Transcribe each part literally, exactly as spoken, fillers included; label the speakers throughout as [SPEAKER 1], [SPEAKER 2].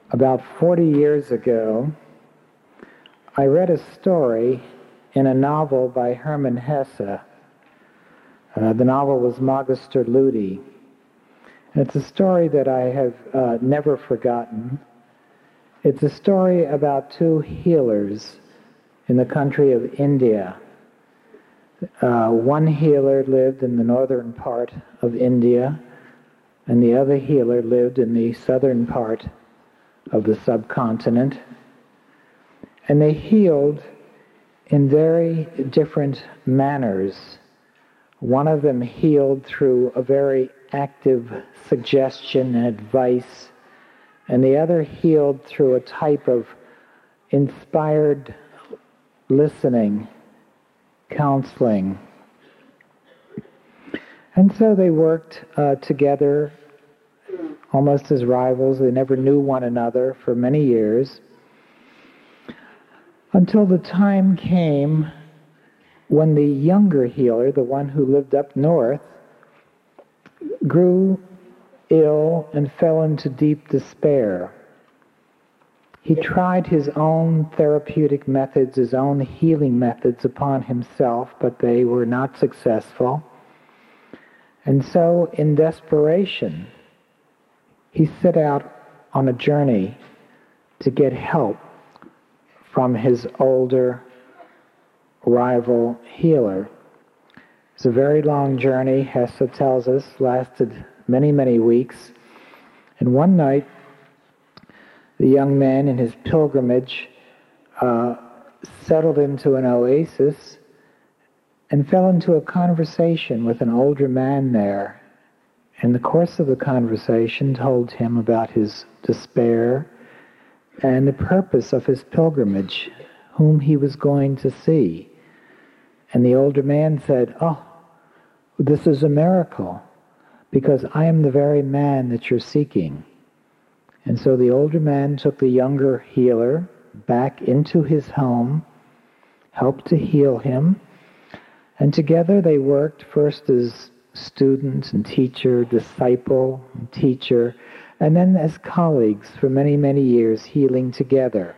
[SPEAKER 1] About forty years ago, I read a story in a novel by Hermann Hesse. Uh, the novel was Magister Ludi. It's a story that I have uh, never forgotten. It's a story about two healers in the country of India. Uh, one healer lived in the northern part of India, and the other healer lived in the southern part of the subcontinent. And they healed in very different manners. One of them healed through a very active suggestion and advice, and the other healed through a type of inspired listening, counseling. And so they worked uh, together almost as rivals. They never knew one another for many years, until the time came when the younger healer, the one who lived up north, grew ill and fell into deep despair. He tried his own therapeutic methods, his own healing methods upon himself, but they were not successful. And so, in desperation, he set out on a journey to get help from his older rival healer. It's a very long journey, Hesse tells us, lasted many, many weeks. And one night, the young man in his pilgrimage uh, settled into an oasis and fell into a conversation with an older man there. In the course of the conversation, told him about his despair and the purpose of his pilgrimage, whom he was going to see. And the older man said, "Oh, this is a miracle, because I am the very man that you're seeking." And so the older man took the younger healer back into his home, helped to heal him, and together they worked first as student and teacher, disciple and teacher, and then as colleagues for many, many years, healing together,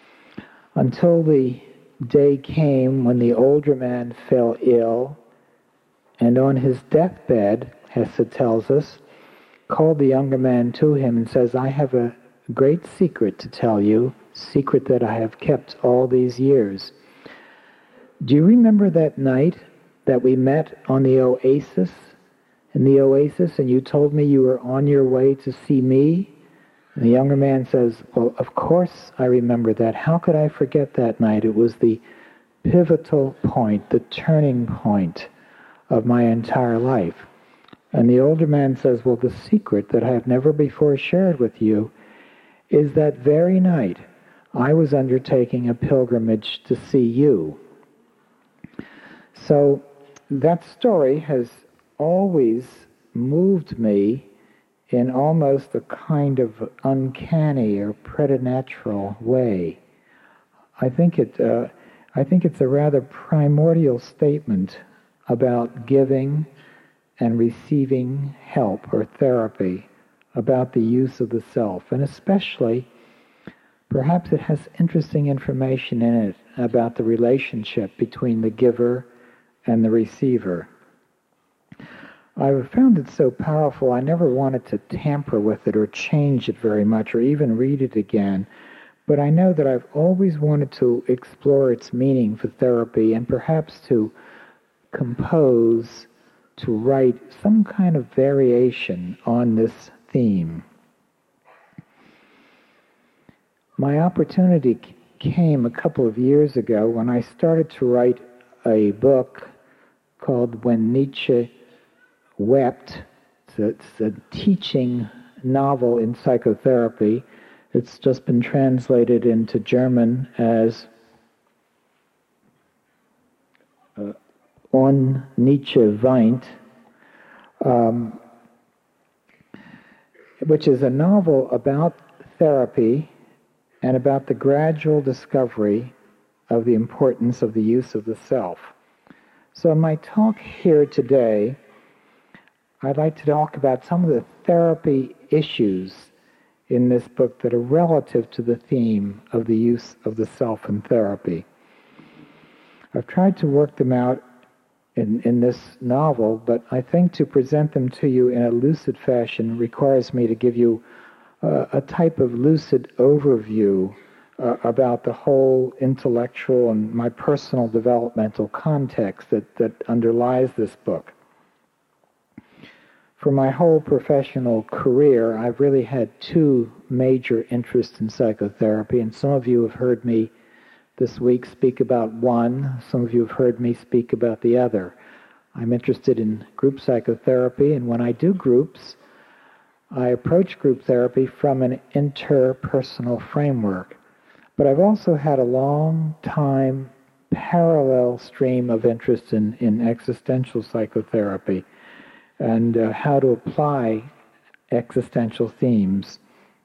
[SPEAKER 1] until the day came when the older man fell ill, and on his deathbed, Hesse tells us, called the younger man to him and says, "I have a great secret to tell you, secret that I have kept all these years. Do you remember that night that we met on the oasis, in the oasis, and you told me you were on your way to see me?" And the younger man says, "Well, of course I remember that. How could I forget that night? It was the pivotal point, the turning point of my entire life." And the older man says, "Well, the secret that I have never before shared with you is that very night I was undertaking a pilgrimage to see you." So that story has always moved me in almost a kind of uncanny or preternatural way. I think it, uh, I think it's a rather primordial statement about giving and receiving help or therapy, about the use of the self, and especially, perhaps it has interesting information in it about the relationship between the giver and the receiver. I've found it so powerful, I never wanted to tamper with it or change it very much or even read it again, but I know that I've always wanted to explore its meaning for therapy and perhaps to compose, to write some kind of variation on this theme. My opportunity came a couple of years ago when I started to write a book called When Nietzsche Wept. It's a, it's a teaching novel in psychotherapy. It's just been translated into German as uh, On Nietzsche Weint, um, which is a novel about therapy and about the gradual discovery of the importance of the use of the self. So in my talk here today, I'd like to talk about some of the therapy issues in this book that are relative to the theme of the use of the self in therapy. I've tried to work them out in, in this novel, but I think to present them to you in a lucid fashion requires me to give you uh, a type of lucid overview uh, about the whole intellectual and my personal developmental context that, that underlies this book. For my whole professional career, I've really had two major interests in psychotherapy, and some of you have heard me this week speak about one. Some of you have heard me speak about the other. I'm interested in group psychotherapy, and when I do groups, I approach group therapy from an interpersonal framework. But I've also had a long time parallel stream of interest in, in existential psychotherapy and uh, how to apply existential themes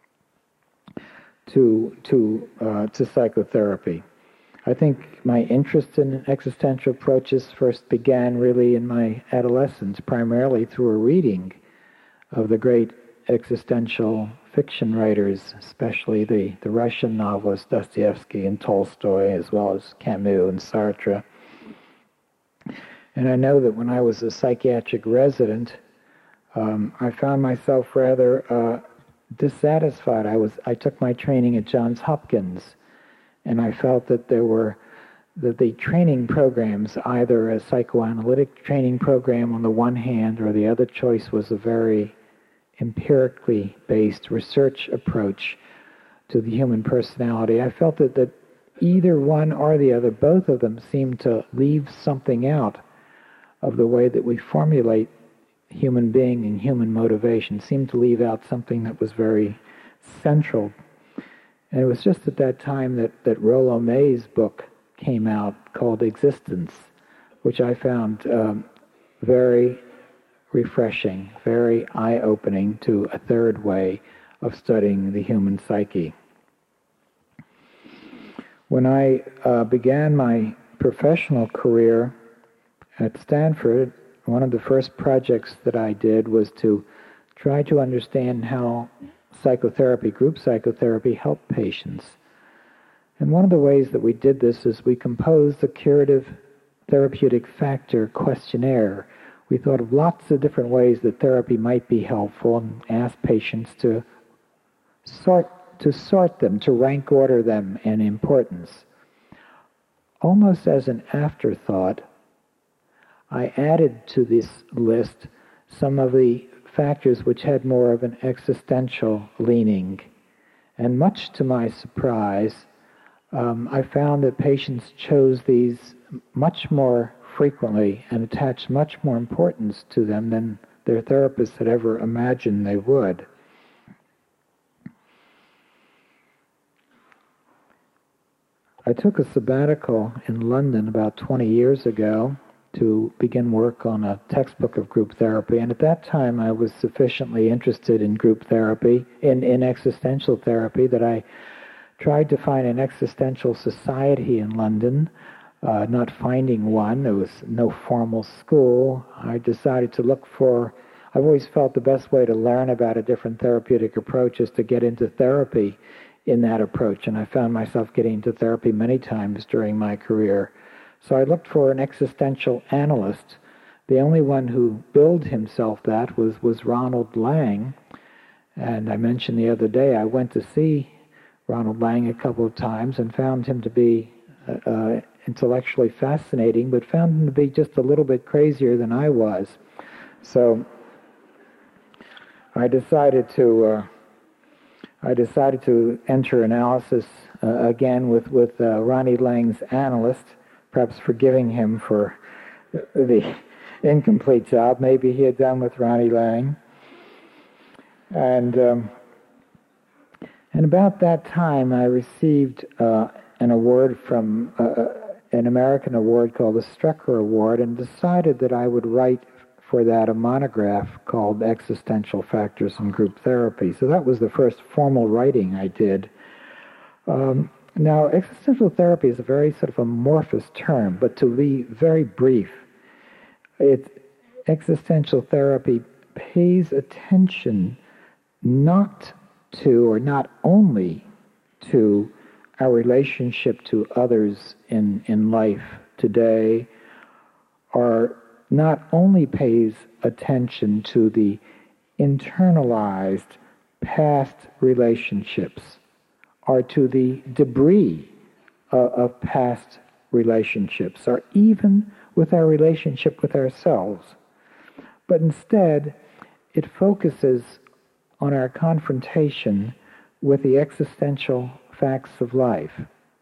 [SPEAKER 1] to, to, uh, to psychotherapy. I think my interest in existential approaches first began really in my adolescence, primarily through a reading of the great existential fiction writers, especially the, the Russian novelists Dostoevsky and Tolstoy, as well as Camus and Sartre. And I know that when I was a psychiatric resident, um, I found myself rather uh, dissatisfied. I was I took my training at Johns Hopkins, and I felt that there were that the training programs, either a psychoanalytic training program on the one hand, or the other choice was a very empirically based research approach to the human personality. I felt that, that either one or the other, both of them seemed to leave something out of the way that we formulate human being and human motivation, seemed to leave out something that was very central. And it was just at that time that, that Rollo May's book came out called Existence, which I found um, very refreshing, very eye-opening to a third way of studying the human psyche. When I uh, began my professional career at Stanford, one of the first projects that I did was to try to understand how psychotherapy, group psychotherapy, helped patients. And one of the ways that we did this is we composed a curative therapeutic factor questionnaire. We thought of lots of different ways that therapy might be helpful and asked patients to sort to sort them, to rank order them in importance. Almost as an afterthought, I added to this list some of the factors which had more of an existential leaning. And much to my surprise, um, I found that patients chose these much more frequently and attached much more importance to them than their therapists had ever imagined they would. I took a sabbatical in London about twenty years ago to begin work on a textbook of group therapy, and at that time I was sufficiently interested in group therapy, in, in existential therapy, that I tried to find an existential society in London. Uh, not finding one, there was no formal school. I decided to look for, I've always felt the best way to learn about a different therapeutic approach is to get into therapy in that approach, and I found myself getting into therapy many times during my career. So I looked for an existential analyst. The only one who billed himself that was, was Ronald Lang. And I mentioned the other day, I went to see Ronald Lang a couple of times and found him to be uh, uh, intellectually fascinating, but found him to be just a little bit crazier than I was. So I decided to uh, I decided to enter analysis uh, again with, with uh, Ronnie Lang's analyst, perhaps forgiving him for the incomplete job maybe he had done with Ronnie Lang. And um, and about that time, I received uh, an award from uh, an American award called the Strecker Award, and decided that I would write for that a monograph called Existential Factors in Group Therapy. So that was the first formal writing I did. Um, now, existential therapy is a very sort of amorphous term, but to be very brief, it, existential therapy pays attention not to, or not only to, our relationship to others in, in life today, or not only pays attention to the internalized past relationships, or to the debris of, of past relationships, or even with our relationship with ourselves. But instead, it focuses on our confrontation with the existential facts of life.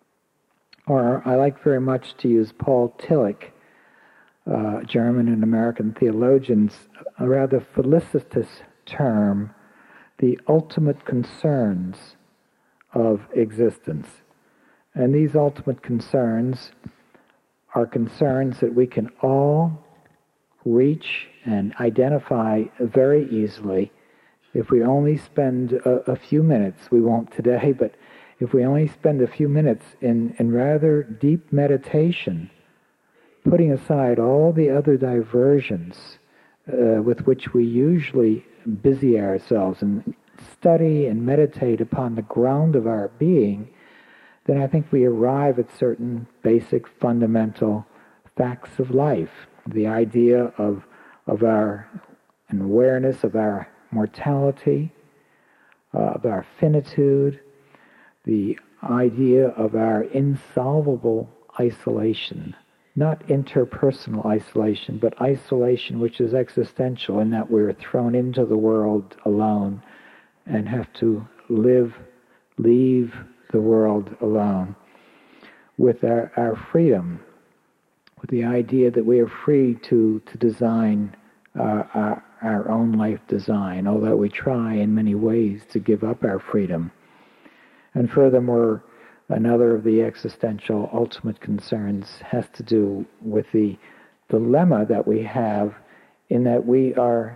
[SPEAKER 1] Or I like very much to use Paul Tillich, uh, German and American theologians, a rather felicitous term, the ultimate concerns of existence. And these ultimate concerns are concerns that we can all reach and identify very easily if we only spend a, a few minutes. We won't today, but if we only spend a few minutes in, in rather deep meditation, putting aside all the other diversions uh, with which we usually busy ourselves and study and meditate upon the ground of our being, then I think we arrive at certain basic fundamental facts of life. The idea of, of our an awareness of our mortality, uh, of our finitude, the idea of our insolvable isolation, not interpersonal isolation, but isolation which is existential in that we're thrown into the world alone and have to live, leave the world alone, with our, our freedom, with the idea that we are free to, to design uh, our, our own life design, although we try in many ways to give up our freedom. And furthermore, another of the existential ultimate concerns has to do with the dilemma that we have in that we are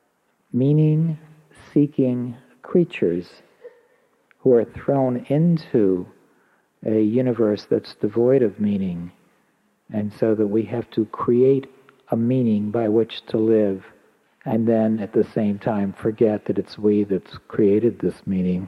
[SPEAKER 1] meaning-seeking creatures who are thrown into a universe that's devoid of meaning, and so that we have to create a meaning by which to live, and then at the same time forget that it's we that's created this meaning.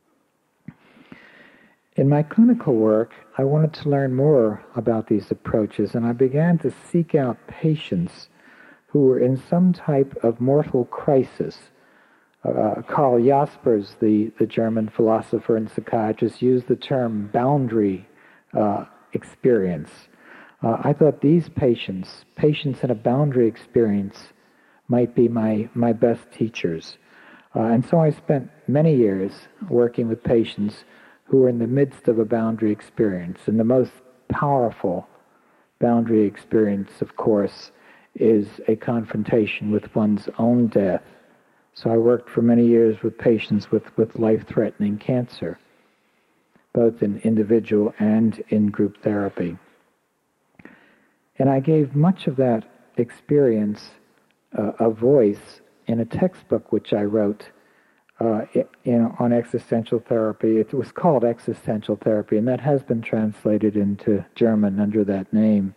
[SPEAKER 1] In my clinical work, I wanted to learn more about these approaches, and I began to seek out patients who were in some type of mortal crisis. Uh, Karl Jaspers, the, the German philosopher and psychiatrist, used the term boundary uh, experience. Uh, I thought these patients, patients in a boundary experience, might be my, my best teachers. Uh, and so I spent many years working with patients who were in the midst of a boundary experience. And the most powerful boundary experience, of course, is a confrontation with one's own death. So I worked for many years with patients with, with life-threatening cancer, both in individual and in group therapy. And I gave much of that experience uh, a voice in a textbook which I wrote uh, in, on existential therapy. It was called Existential Therapy, and that has been translated into German under that name.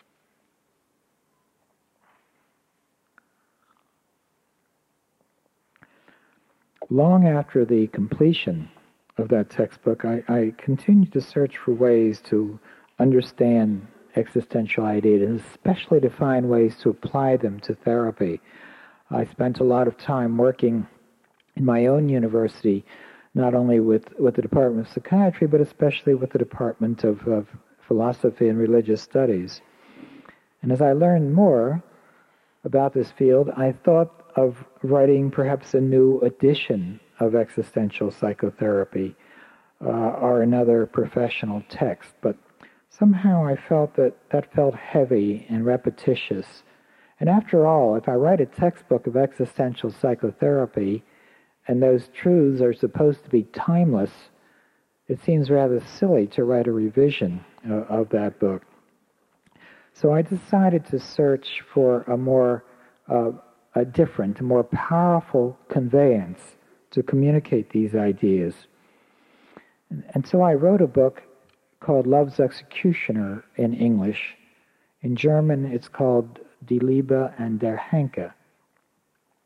[SPEAKER 1] Long after the completion of that textbook, I, I continued to search for ways to understand existential ideas, and especially to find ways to apply them to therapy. I spent a lot of time working in my own university, not only with, with the Department of Psychiatry, but especially with the Department of, of Philosophy and Religious Studies. And as I learned more about this field, I thought of writing perhaps a new edition of existential psychotherapy uh, or another professional text. But somehow I felt that that felt heavy and repetitious. And after all, if I write a textbook of existential psychotherapy and those truths are supposed to be timeless, it seems rather silly to write a revision uh, of that book. So I decided to search for a more uh, a different, a more powerful conveyance to communicate these ideas. And, and so I wrote a book called Love's Executioner in English. In German, it's called Die Liebe and der Henker.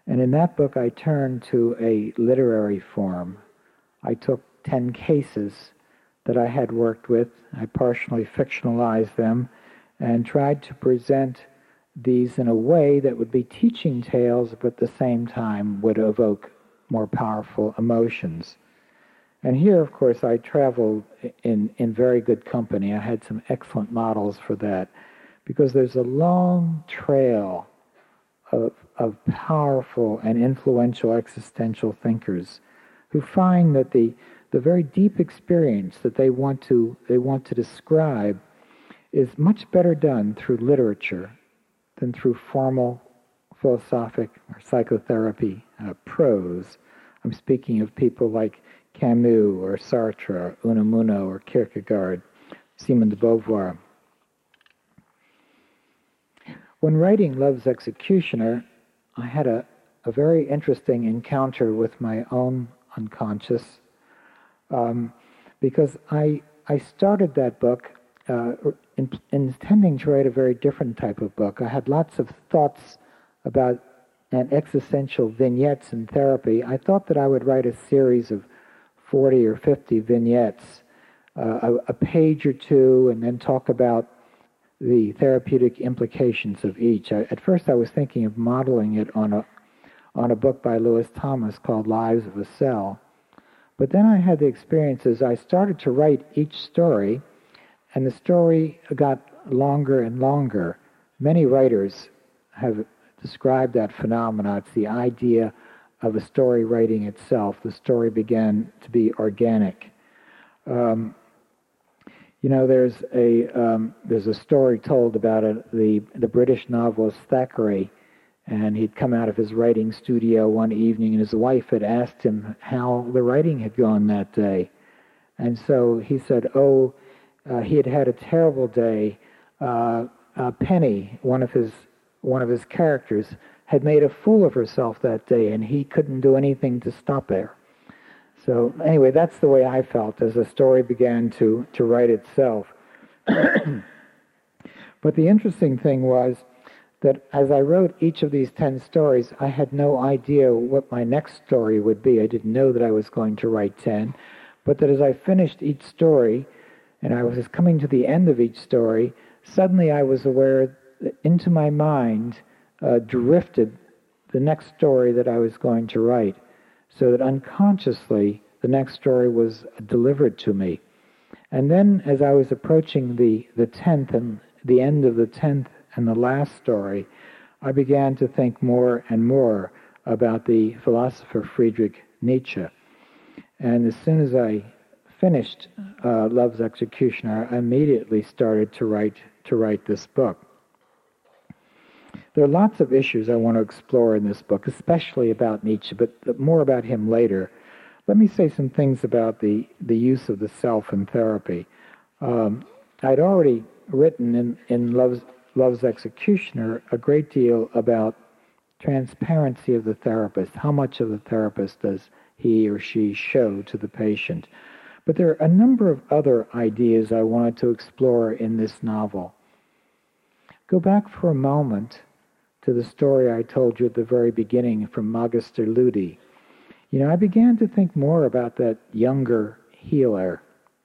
[SPEAKER 1] And in that book, I turned to a literary form. I took ten cases that I had worked with. I partially fictionalized them and tried to present these in a way that would be teaching tales, but at the same time would evoke more powerful emotions. And here, of course, I traveled in, in very good company. I had some excellent models for that, because there's a long trail of, of powerful and influential existential thinkers who find that the, the very deep experience that they want to, they want to describe is much better done through literature than through formal philosophic or psychotherapy uh, prose. I'm speaking of people like Camus or Sartre or Unamuno or Kierkegaard, Simone de Beauvoir. When writing Love's Executioner, I had a, a very interesting encounter with my own unconscious, um, because I, I started that book uh, in, intending to write a very different type of book. I had lots of thoughts about and existential vignettes in therapy. I thought that I would write a series of forty or fifty vignettes, uh, a, a page or two, and then talk about the therapeutic implications of each. I, at first I was thinking of modeling it on a, on a book by Lewis Thomas called Lives of a Cell. But then I had the experiences, I started to write each story, and the story got longer and longer. Many writers have described that phenomena. It's the idea of a story writing itself. The story began to be organic. Um, you know, there's a um, there's a story told about a, the the British novelist Thackeray, and he'd come out of his writing studio one evening, and his wife had asked him how the writing had gone that day, and so he said, "Oh, uh, he had had a terrible day. Uh, uh, Penny, one of his one of his characters, had made a fool of herself that day, and he couldn't do anything to stop her." So anyway, that's the way I felt as the story began to, to write itself. But the interesting thing was that as I wrote each of these ten stories, I had no idea what my next story would be. I didn't know that I was going to write ten, but that as I finished each story, and I was coming to the end of each story, suddenly I was aware that into my mind uh, drifted the next story that I was going to write, so that unconsciously the next story was delivered to me. And then as I was approaching the, the tenth and the end of the tenth and the last story, I began to think more and more about the philosopher Friedrich Nietzsche. And as soon as I finished uh, Love's Executioner, I immediately started to write to write this book. There are lots of issues I want to explore in this book, especially about Nietzsche, but more about him later. Let me say some things about the, the use of the self in therapy. Um, I'd already written in, in Love's, Love's Executioner a great deal about transparency of the therapist. How much of the therapist does he or she show to the patient? But there are a number of other ideas I wanted to explore in this novel. Go back for a moment to the story I told you at the very beginning from Magister Ludi. You know, I began to think more about that younger healer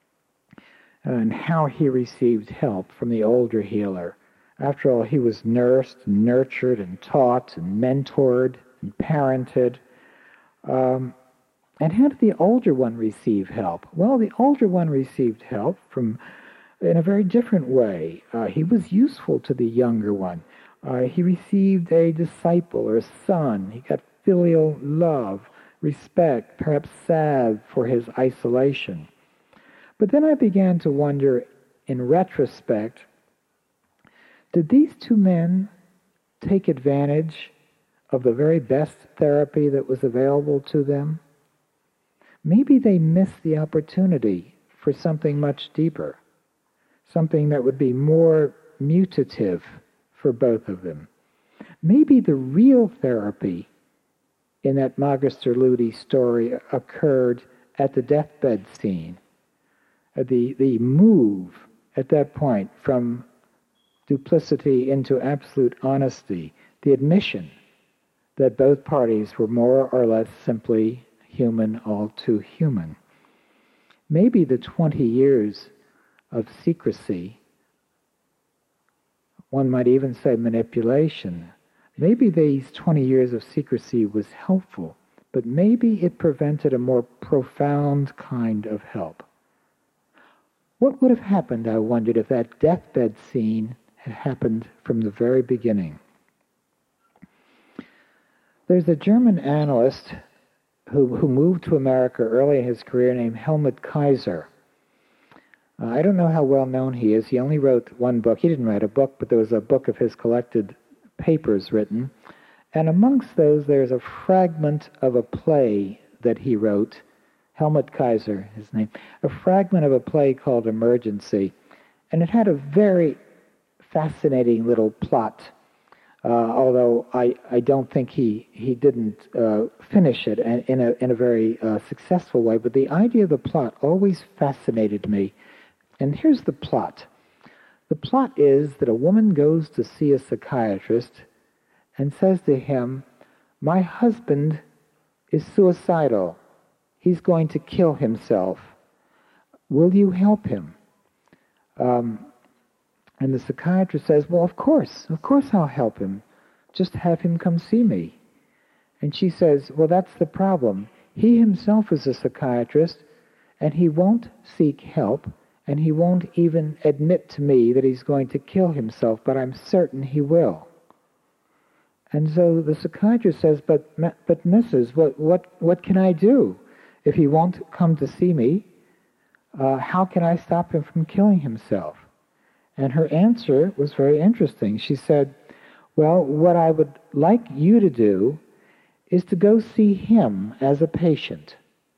[SPEAKER 1] and how he received help from the older healer. After all, he was nursed, and nurtured, and taught, and mentored, and parented. Um, and how did the older one receive help? Well, the older one received help from in a very different way. Uh, he was useful to the younger one. Uh, he received a disciple or a son. He got filial love, respect, perhaps salve for his isolation. But then I began to wonder, in retrospect, did these two men take advantage of the very best therapy that was available to them? Maybe they missed the opportunity for something much deeper, something that would be more mutative for both of them. Maybe the real therapy in that Magister Ludi story occurred at the deathbed scene. The, the move at that point from duplicity into absolute honesty, the admission that both parties were more or less simply human, all too human. Maybe the twenty years of secrecy, one might even say manipulation, maybe these twenty years of secrecy was helpful, but maybe it prevented a more profound kind of help. What would have happened, I wondered, if that deathbed scene had happened from the very beginning? There's a German analyst who, who moved to America early in his career named Helmut Kaiser. Uh, I don't know how well known he is. He only wrote one book. He didn't write a book, but there was a book of his collected papers written. And amongst those, there's a fragment of a play that he wrote, Helmut Kaiser, his name, a fragment of a play called Emergency. And it had a very fascinating little plot, uh, although I, I don't think he, he didn't uh, finish it in a, in a very uh, successful way. But the idea of the plot always fascinated me. And here's the plot. The plot is that a woman goes to see a psychiatrist and says to him, "My husband is suicidal. He's going to kill himself. Will you help him?" Um, and the psychiatrist says, "Well, of course, of course I'll help him. Just have him come see me." And she says, "Well, that's the problem. He himself is a psychiatrist, and he won't seek help, and he won't even admit to me that he's going to kill himself, but I'm certain he will." And so the psychiatrist says, but, but Missus, what, what, what can I do? If he won't come to see me, uh, how can I stop him from killing himself? And her answer was very interesting. She said, "Well, what I would like you to do is to go see him as a patient.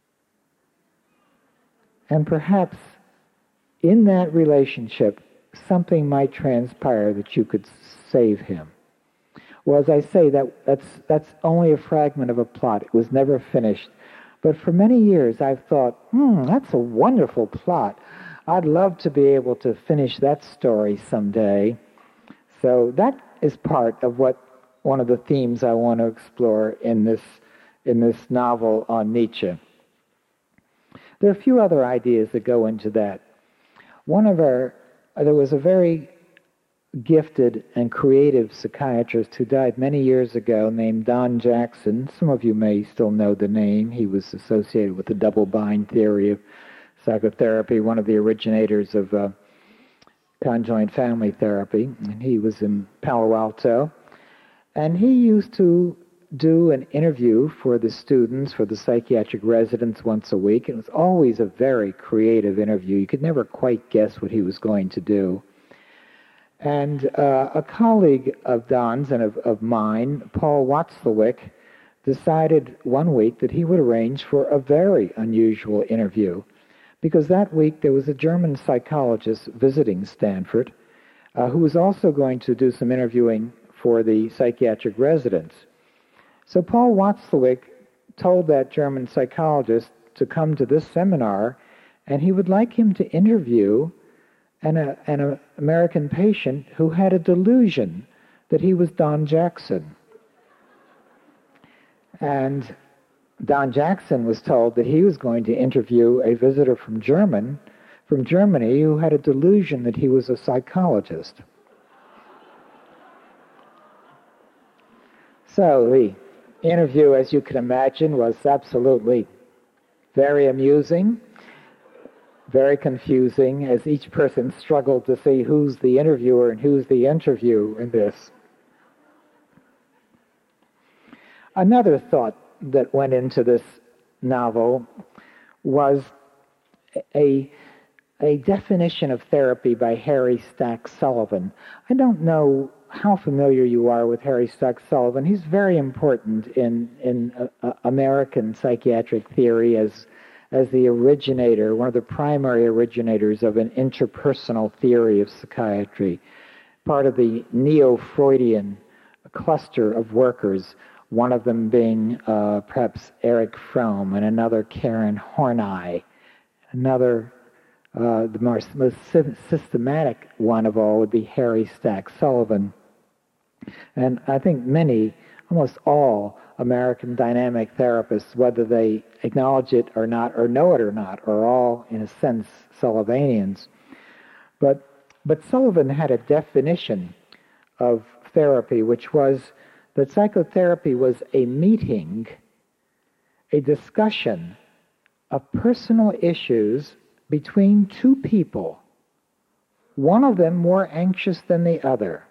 [SPEAKER 1] And perhaps in that relationship, something might transpire that you could save him." Well, as I say, that, that's, that's only a fragment of a plot. It was never finished. But for many years, I've thought, hmm, that's a wonderful plot. I'd love to be able to finish that story someday. So that is part of what one of the themes I want to explore in this, in this novel on Nietzsche. There are a few other ideas that go into that. One of our, there was a very gifted and creative psychiatrist who died many years ago named Don Jackson. Some of you may still know the name. He was associated with the double bind theory of psychotherapy, one of the originators of uh, conjoint family therapy. And he was in Palo Alto. And he used to do an interview for the students, for the psychiatric residents once a week. It was always a very creative interview. You could never quite guess what he was going to do. And uh, a colleague of Don's and of, of mine, Paul Watzlawick, decided one week that he would arrange for a very unusual interview, because that week there was a German psychologist visiting Stanford uh, who was also going to do some interviewing for the psychiatric residents. So Paul Watzlawick told that German psychologist to come to this seminar, and he would like him to interview an, a, an a American patient who had a delusion that he was Don Jackson. And Don Jackson was told that he was going to interview a visitor from German, from Germany who had a delusion that he was a psychologist. So the interview, as you can imagine, was absolutely very amusing, very confusing, as each person struggled to see who's the interviewer and who's the interview in this. Another thought that went into this novel was a, a definition of therapy by Harry Stack Sullivan. I don't know how familiar you are with Harry Stack Sullivan. He's very important in, in uh, uh, American psychiatric theory as, as the originator, one of the primary originators of an interpersonal theory of psychiatry, part of the neo-Freudian cluster of workers, one of them being uh, perhaps Erich Fromm, and another Karen Horney, another, uh, the more, most systematic one of all would be Harry Stack Sullivan. And I think many almost all American dynamic therapists, whether they acknowledge it or not, or know it or not, are all, in a sense, Sullivanians. But, but Sullivan had a definition of therapy, which was that psychotherapy was a meeting, a discussion of personal issues between two people, one of them more anxious than the other.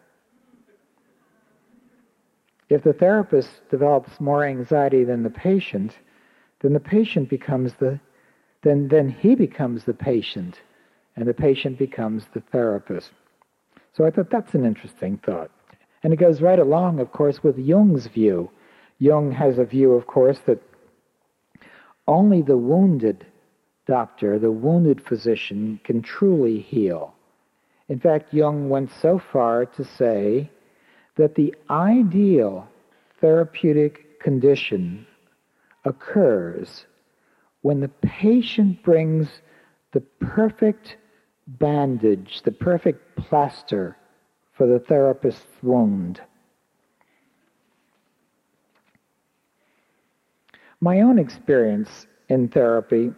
[SPEAKER 1] If the therapist develops more anxiety than the patient, then the patient becomes the, then, then he becomes the patient, and the patient becomes the therapist. So I thought that's an interesting thought. And it goes right along, of course, with Jung's view. Jung has a view, of course, that only the wounded doctor, the wounded physician, can truly heal. In fact, Jung went so far to say that the ideal therapeutic condition occurs when the patient brings the perfect bandage, the perfect plaster for the therapist's wound. My own experience in therapy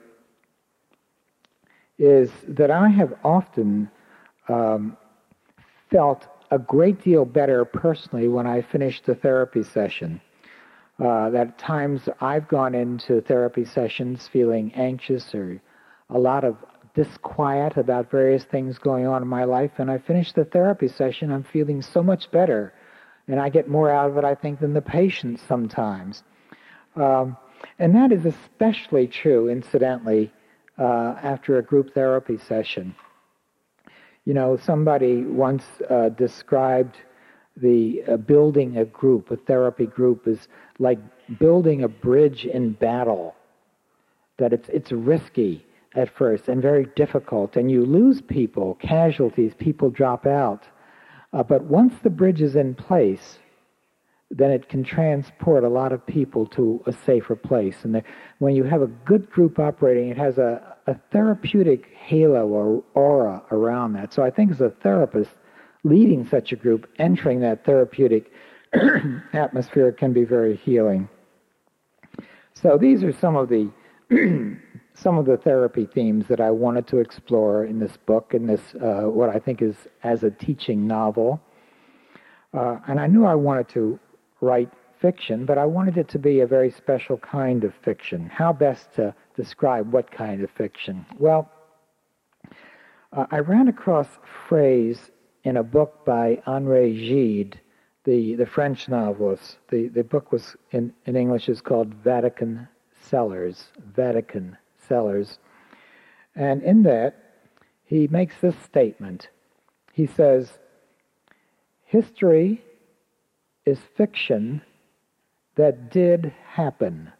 [SPEAKER 1] is that I have often um, felt a great deal better personally when I finished the therapy session. Uh, that at times I've gone into therapy sessions feeling anxious or a lot of disquiet about various things going on in my life, and I finish the therapy session, I'm feeling so much better, and I get more out of it, I think, than the patient sometimes. Um, and that is especially true, incidentally, uh, after a group therapy session. You know, somebody once uh, described the uh, building a group, a therapy group, as like building a bridge in battle, that it's it's risky at first and very difficult, and you lose people, casualties, people drop out. Uh, but once the bridge is in place, then it can transport a lot of people to a safer place. And the, when you have a good group operating, it has a, a therapeutic halo or aura around that. So I think as a therapist, leading such a group, entering that therapeutic atmosphere can be very healing. So these are some of the some of the therapy themes that I wanted to explore in this book, in this uh, what I think is as a teaching novel. Uh, and I knew I wanted to write fiction, but I wanted it to be a very special kind of fiction. How best to describe what kind of fiction? Well, uh, I ran across a phrase in a book by André Gide, the, the French novelist. The, the book was in, in English is called Vatican Cellars, Vatican Cellars. And in that, he makes this statement. He says, history is fiction that did happen,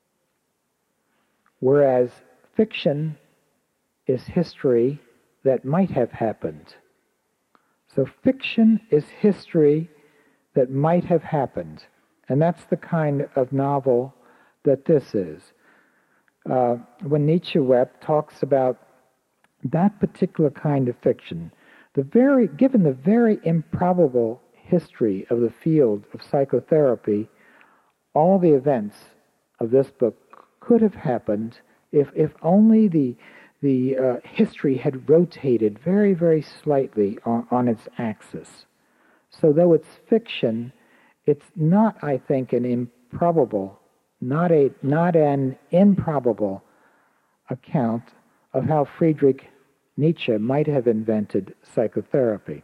[SPEAKER 1] whereas fiction is history that might have happened. So fiction is history that might have happened, and that's the kind of novel that this is. Uh, when Nietzsche wept talks about that particular kind of fiction, the very given the very improbable history of the field of psychotherapy, all the events of this book could have happened if if only the the uh, history had rotated very, very slightly on, on its axis. So though it's fiction, it's not, I think, an improbable, not a not an improbable account of how Friedrich Nietzsche might have invented psychotherapy.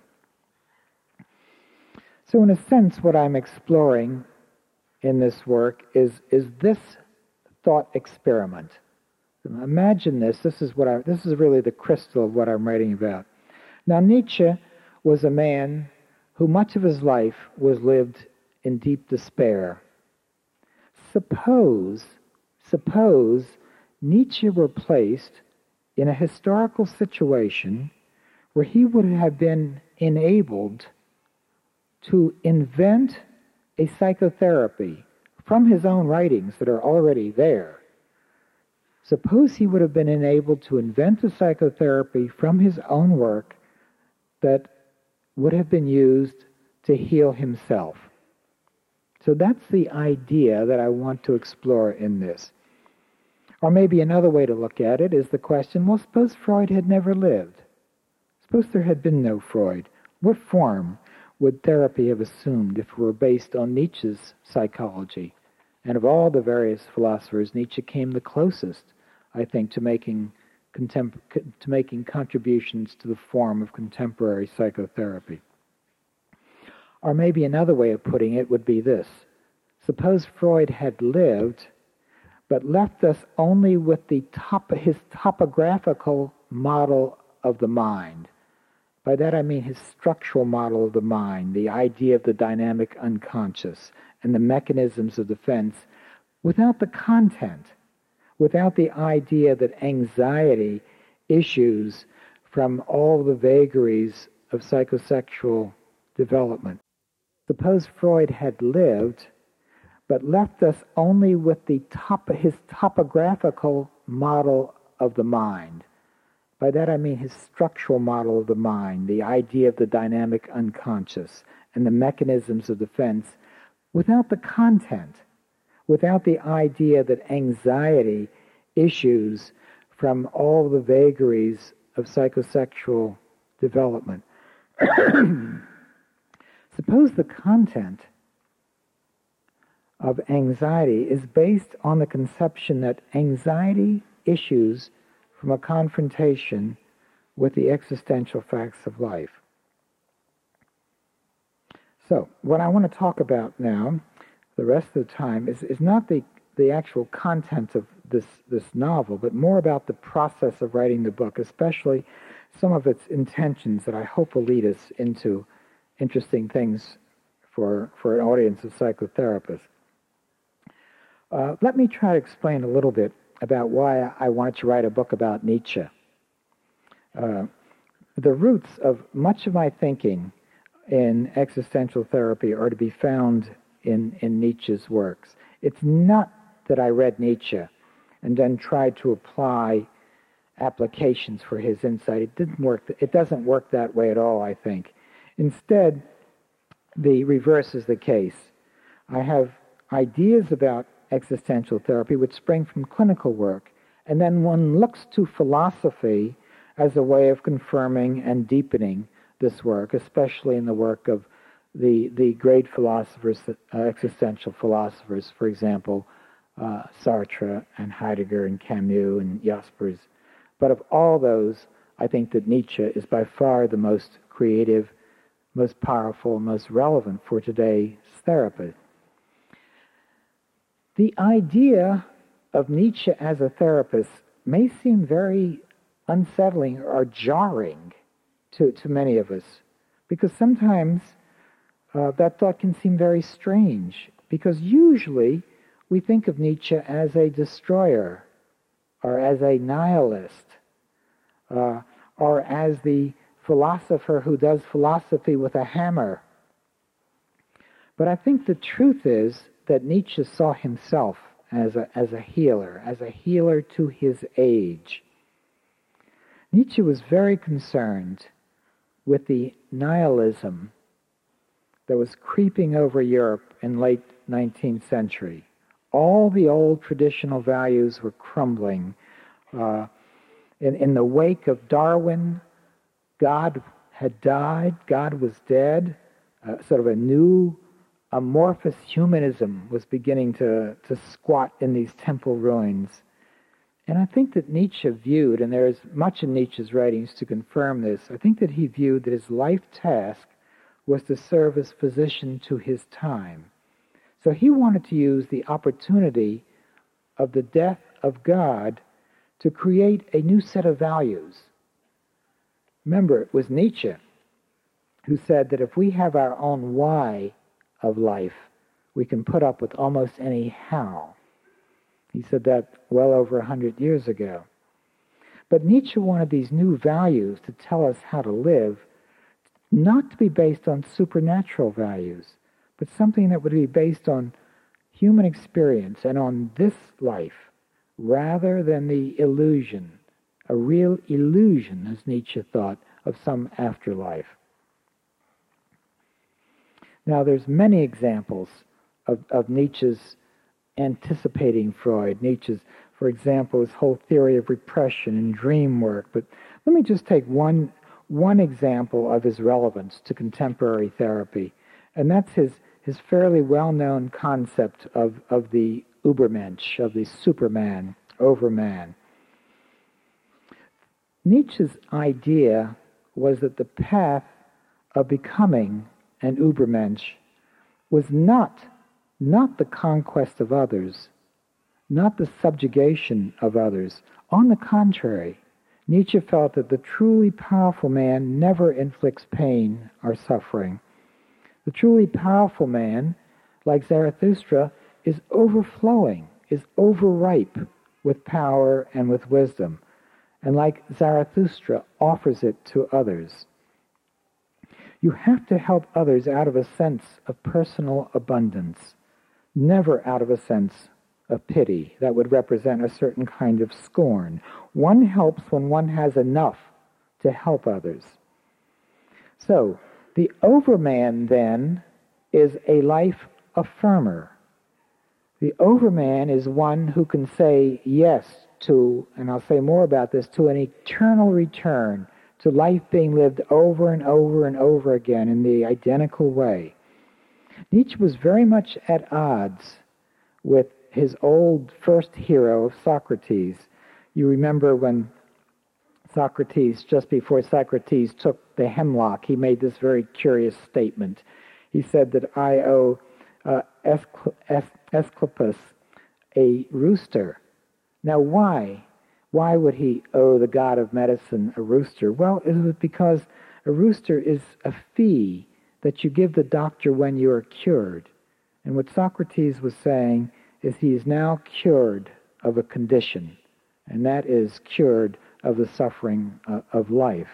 [SPEAKER 1] So in a sense, what I'm exploring in this work is, is this thought experiment. Imagine this. This is what I, this is really the crystal of what I'm writing about. Now, Nietzsche was a man who much of his life was lived in deep despair. Suppose, suppose Nietzsche were placed in a historical situation where he would have been enabled to invent a psychotherapy from his own writings that are already there. Suppose he would have been enabled to invent a psychotherapy from his own work that would have been used to heal himself. So that's the idea that I want to explore in this. Or maybe another way to look at it is the question, well, suppose Freud had never lived. Suppose there had been no Freud. What form would therapy have assumed if it were based on Nietzsche's psychology? And of all the various philosophers, Nietzsche came the closest, I think, to making contem- to making contributions to the form of contemporary psychotherapy. Or maybe another way of putting it would be this. Suppose Freud had lived, but left us only with the top, his topographical model of the mind. By that I mean his structural model of the mind, the idea of the dynamic unconscious, and the mechanisms of defense, without the content, without the idea that anxiety issues from all the vagaries of psychosexual development. Suppose Freud had lived, but left us only with the top, his topographical model of the mind. By that I mean his structural model of the mind, the idea of the dynamic unconscious, and the mechanisms of defense, without the content, without the idea that anxiety issues from all the vagaries of psychosexual development. Suppose the content of anxiety is based on the conception that anxiety issues from a confrontation with the existential facts of life. So, what I want to talk about now, the rest of the time, is, is not the, the actual content of this, this novel, but more about the process of writing the book, especially some of its intentions that I hope will lead us into interesting things for, for an audience of psychotherapists. Uh, let me try to explain a little bit about why I wanted to write a book about Nietzsche. Uh, the roots of much of my thinking in existential therapy are to be found in, in Nietzsche's works. It's not that I read Nietzsche and then tried to apply applications for his insight. It didn't work. It doesn't work that way at all, I think. Instead, the reverse is the case. I have ideas about existential therapy which spring from clinical work, and then one looks to philosophy as a way of confirming and deepening this work, especially in the work of the the great philosophers, uh, existential philosophers, for example, uh, Sartre and Heidegger and Camus and Jaspers. But of all those, I think that Nietzsche is by far the most creative, most powerful, most relevant for today's therapy. The idea of Nietzsche as a therapist may seem very unsettling or jarring to, to many of us, because sometimes uh, that thought can seem very strange, because usually we think of Nietzsche as a destroyer, or as a nihilist, uh, or as the philosopher who does philosophy with a hammer. But I think the truth is that Nietzsche saw himself as a, as a healer, as a healer to his age. Nietzsche was very concerned with the nihilism that was creeping over Europe in late nineteenth century. All the old traditional values were crumbling. Uh, in, in the wake of Darwin, God had died, God was dead, uh, sort of a new amorphous humanism was beginning to, to squat in these temple ruins. And I think that Nietzsche viewed, and there is much in Nietzsche's writings to confirm this, I think that he viewed that his life task was to serve as physician to his time. So he wanted to use the opportunity of the death of God to create a new set of values. Remember, it was Nietzsche who said that if we have our own why of life, we can put up with almost any how. He said that well over a hundred years ago. But Nietzsche wanted these new values to tell us how to live, not to be based on supernatural values, but something that would be based on human experience and on this life, rather than the illusion, a real illusion, as Nietzsche thought, of some afterlife. Now, there's many examples of, of Nietzsche's anticipating Freud. Nietzsche's, for example, his whole theory of repression and dream work. But let me just take one, one example of his relevance to contemporary therapy, and that's his, his fairly well-known concept of, of the Übermensch, of the Superman, Overman. Nietzsche's idea was that the path of becoming an Übermensch was not, not the conquest of others, not the subjugation of others. On the contrary, Nietzsche felt that the truly powerful man never inflicts pain or suffering. The truly powerful man, like Zarathustra, is overflowing, is overripe with power and with wisdom, and like Zarathustra, offers it to others. You have to help others out of a sense of personal abundance, never out of a sense of pity that would represent a certain kind of scorn. One helps when one has enough to help others. So, the Overman, then, is a life affirmer. The Overman is one who can say yes to, and I'll say more about this, to an eternal return, to life being lived over and over and over again in the identical way. Nietzsche was very much at odds with his old first hero of Socrates. You remember when Socrates, just before Socrates took the hemlock, he made this very curious statement. He said that I owe uh, Asclepius a rooster. Now why? Why would he owe the god of medicine a rooster? Well, it was because a rooster is a fee that you give the doctor when you are cured. And what Socrates was saying is he is now cured of a condition, and that is cured of the suffering uh, of life.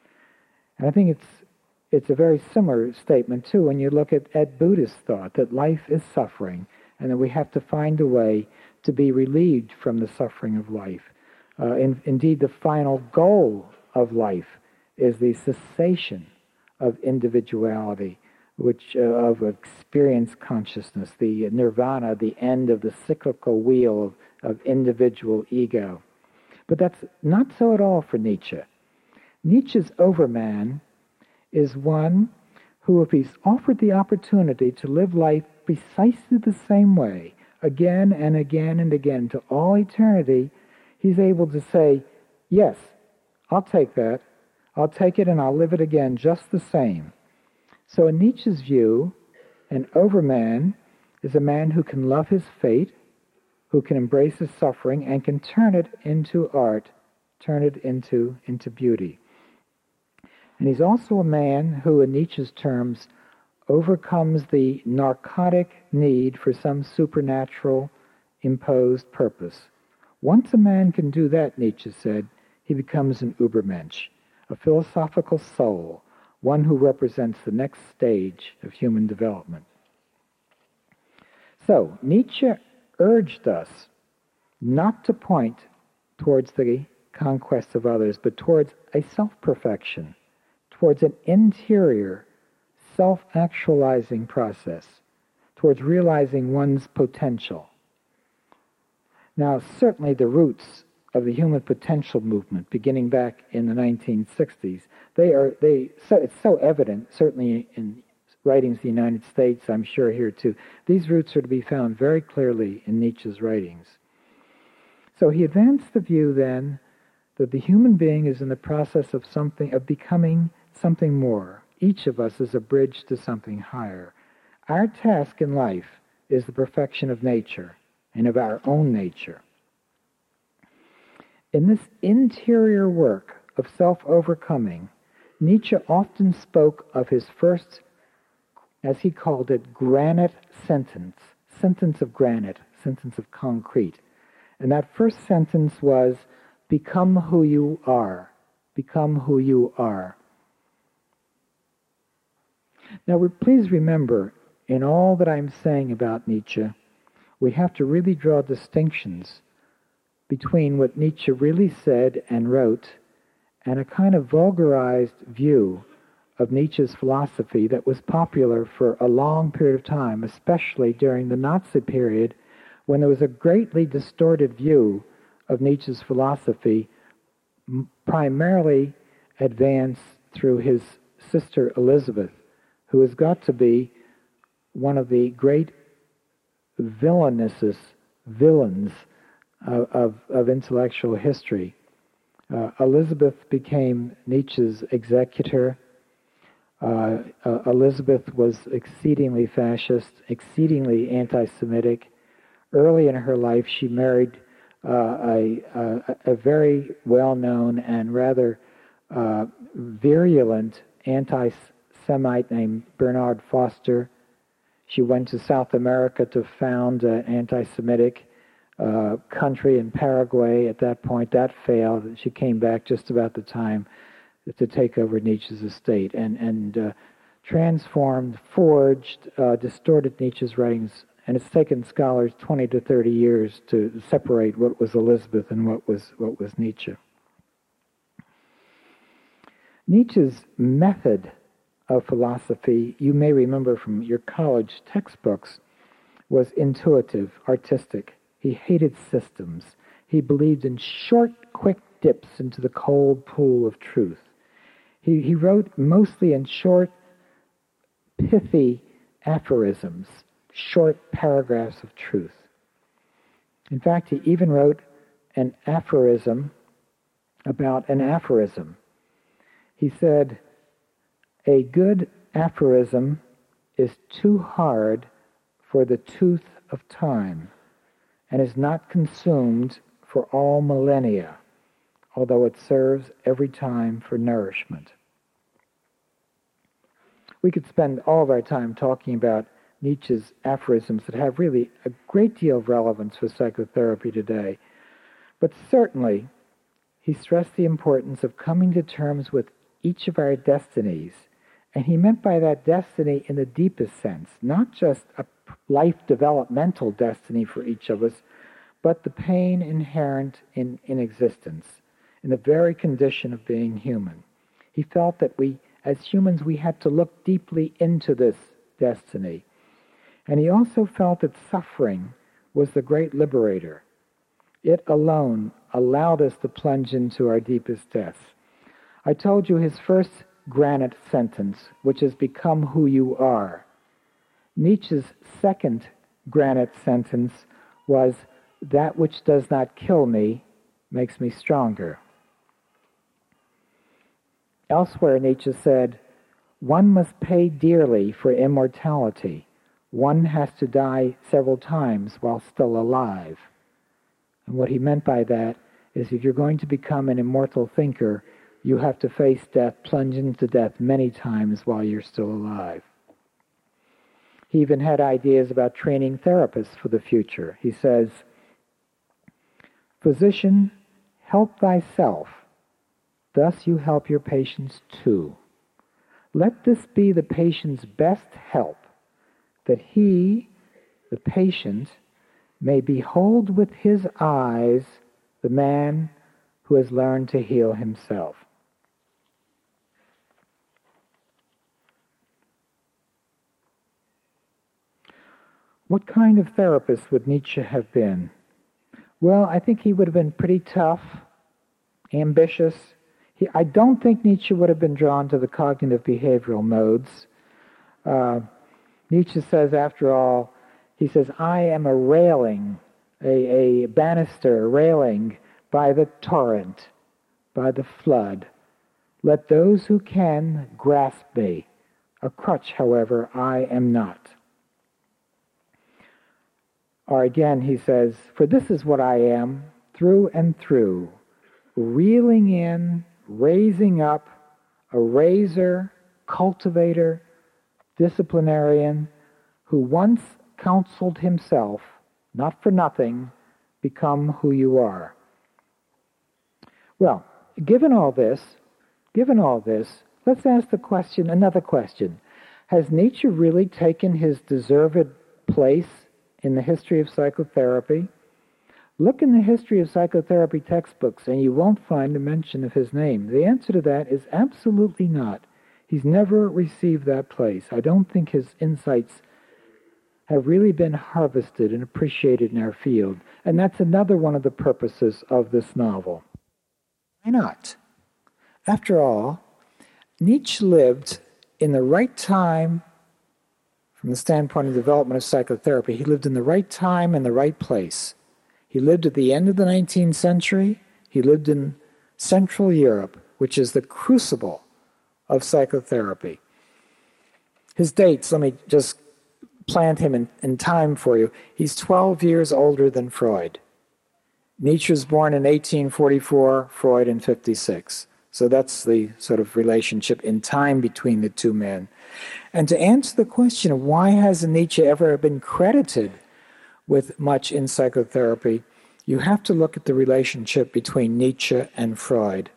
[SPEAKER 1] And I think it's it's a very similar statement, too, when you look at, at Buddhist thought, that life is suffering, and that we have to find a way to be relieved from the suffering of life. Uh, in, indeed, the final goal of life is the cessation of individuality, which uh, of experience consciousness, the nirvana, the end of the cyclical wheel of, of individual ego. But that's not so at all for Nietzsche. Nietzsche's Overman is one who, if he's offered the opportunity to live life precisely the same way, again and again and again, to all eternity, he's able to say, yes, I'll take that. I'll take it and I'll live it again just the same. So in Nietzsche's view, an Overman is a man who can love his fate, who can embrace his suffering, and can turn it into art, turn it into, into beauty. And he's also a man who, in Nietzsche's terms, overcomes the narcotic need for some supernatural imposed purpose. Once a man can do that, Nietzsche said, he becomes an Übermensch, a philosophical soul, one who represents the next stage of human development. So, Nietzsche urged us not to point towards the conquest of others, but towards a self-perfection, towards an interior self-actualizing process, towards realizing one's potential. Now, certainly the roots of the human potential movement, beginning back in the nineteen sixties, they are they. So it's so evident, certainly in writings of the United States, I'm sure here too. These roots are to be found very clearly in Nietzsche's writings. So he advanced the view then that the human being is in the process of something, of becoming something more. Each of us is a bridge to something higher. Our task in life is the perfection of nature and of our own nature. In this interior work of self-overcoming, Nietzsche often spoke of his first, as he called it, granite sentence, sentence of granite, sentence of concrete. And that first sentence was, become who you are, become who you are. Now, please remember, in all that I'm saying about Nietzsche, we have to really draw distinctions between what Nietzsche really said and wrote and a kind of vulgarized view of Nietzsche's philosophy that was popular for a long period of time, especially during the Nazi period, when there was a greatly distorted view of Nietzsche's philosophy, primarily advanced through his sister Elizabeth, who has got to be one of the great villainesses, villains of, of, of intellectual history. Uh, Elizabeth became Nietzsche's executor. Uh, uh, Elizabeth was exceedingly fascist, exceedingly anti-Semitic. Early in her life, she married uh, a, a, a very well-known and rather uh, virulent anti-Semite named Bernard Foster. She went to South America to found an anti-Semitic uh, country in Paraguay. At that point, that failed. She came back just about the time to take over Nietzsche's estate and, and uh, transformed, forged, uh, distorted Nietzsche's writings. And it's taken scholars twenty to thirty years to separate what was Elizabeth and what was, what was Nietzsche. Nietzsche's method of philosophy, you may remember from your college textbooks, was intuitive, artistic. He hated systems. He believed in short, quick dips into the cold pool of truth. He, he wrote mostly in short, pithy aphorisms, short paragraphs of truth. In fact, he even wrote an aphorism about an aphorism. He said, "A good aphorism is too hard for the tooth of time and is not consumed for all millennia, although it serves every time for nourishment." We could spend all of our time talking about Nietzsche's aphorisms that have really a great deal of relevance for psychotherapy today. But certainly, he stressed the importance of coming to terms with each of our destinies. And he meant by that destiny in the deepest sense, not just a life developmental destiny for each of us, but the pain inherent in, in existence, in the very condition of being human. He felt that we, as humans, we had to look deeply into this destiny. And he also felt that suffering was the great liberator. It alone allowed us to plunge into our deepest depths. I told you his first granite sentence, which has become who you are. Nietzsche's second granite sentence was, "That which does not kill me makes me stronger." Elsewhere, Nietzsche said, "One must pay dearly for immortality. One has to die several times while still alive." And what he meant by that is if you're going to become an immortal thinker, you have to face death, plunge into death many times while you're still alive. He even had ideas about training therapists for the future. He says, "Physician, help thyself. Thus you help your patients too. Let this be the patient's best help, that he, the patient, may behold with his eyes the man who has learned to heal himself." What kind of therapist would Nietzsche have been? Well, I think he would have been pretty tough, ambitious. He, I don't think Nietzsche would have been drawn to the cognitive behavioral modes. Uh, Nietzsche says, after all, he says, "I am a railing, a, a banister railing by the torrent, by the flood. Let those who can grasp me. A crutch, however, I am not." Or again, he says, "For this is what I am, through and through, reeling in, raising up, a raiser, cultivator, disciplinarian, who once counseled himself, not for nothing, become who you are." Well, given all this, given all this, let's ask the question, another question. Has Nietzsche really taken his deserved place in the history of psychotherapy? Look in the history of psychotherapy textbooks and you won't find a mention of his name. The answer to that is absolutely not. He's never received that place. I don't think his insights have really been harvested and appreciated in our field. And that's another one of the purposes of this novel. Why not? After all, Nietzsche lived in the right time from the standpoint of development of psychotherapy. He lived in the right time and the right place. He lived at the end of the nineteenth century. He lived in Central Europe, which is the crucible of psychotherapy. His dates, let me just plant him in, in time for you. He's twelve years older than Freud. Nietzsche was born in eighteen forty-four, Freud in fifty-six. So that's the sort of relationship in time between the two men. And to answer the question of why hasn't Nietzsche ever been credited with much in psychotherapy, you have to look at the relationship between Nietzsche and Freud.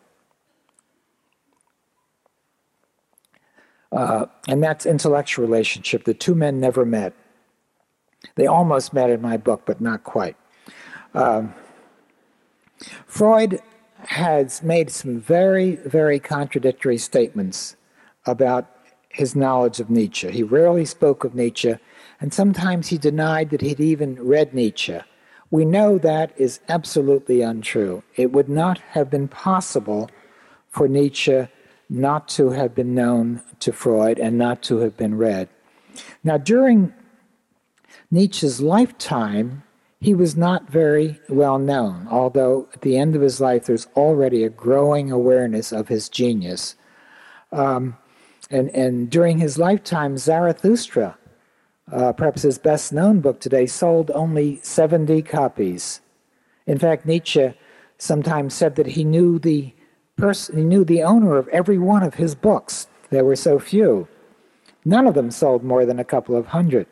[SPEAKER 1] Uh, and that's intellectual relationship. The two men never met. They almost met in my book, but not quite. Um, Freud has made some very, very contradictory statements about his knowledge of Nietzsche. He rarely spoke of Nietzsche, and sometimes he denied that he'd even read Nietzsche. We know that is absolutely untrue. It would not have been possible for Nietzsche not to have been known to Freud and not to have been read. Now, during Nietzsche's lifetime, he was not very well known, although at the end of his life there's already a growing awareness of his genius. Um, and, and during his lifetime, Zarathustra, uh, perhaps his best-known book today, sold only seventy copies. In fact, Nietzsche sometimes said that he knew the person, he knew the owner of every one of his books. There were so few. None of them sold more than a couple of hundred.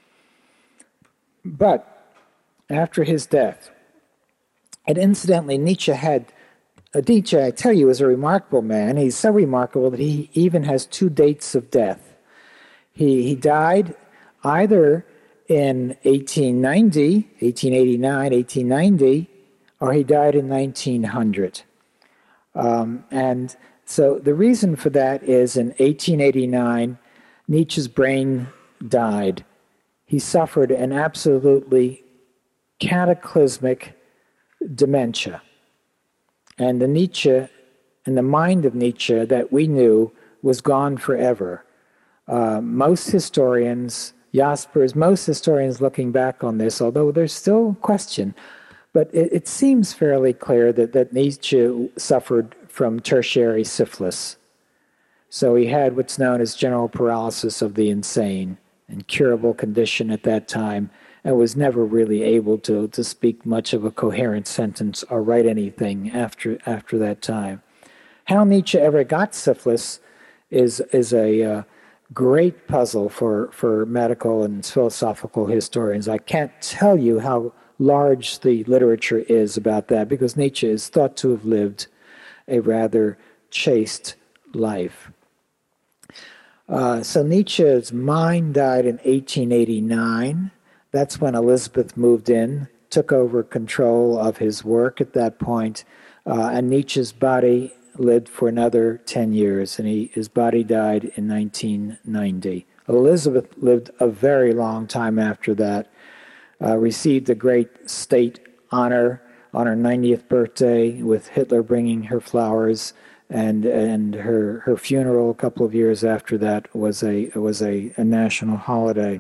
[SPEAKER 1] But after his death, and incidentally, Nietzsche had, uh, Nietzsche, I tell you, is a remarkable man. He's so remarkable that he even has two dates of death. He, he died either in eighteen ninety, eighteen eighty-nine, eighteen ninety, or he died in nineteen hundred. Um, and so the reason for that is in eighteen eighty-nine, Nietzsche's brain died. He suffered an absolutely cataclysmic dementia. And the Nietzsche, and the mind of Nietzsche that we knew was gone forever. Uh, most historians, Jaspers, most historians looking back on this, although there's still question, but it, it seems fairly clear that, that Nietzsche suffered from tertiary syphilis. So he had what's known as general paralysis of the insane, incurable condition at that time, and was never really able to, to speak much of a coherent sentence or write anything after after that time. How Nietzsche ever got syphilis is is a uh, great puzzle for, for medical and philosophical historians. I can't tell you how large the literature is about that, because Nietzsche is thought to have lived a rather chaste life. Uh, so Nietzsche's mind died in eighteen eighty-nine. That's when Elizabeth moved in, took over control of his work at that point, uh, and Nietzsche's body lived for another ten years, and he, his body died in nineteen ninety. Elizabeth lived a very long time after that, uh, received a great state honor on her ninetieth birthday, with Hitler bringing her flowers, and and her her funeral a couple of years after that was a was a, a national holiday.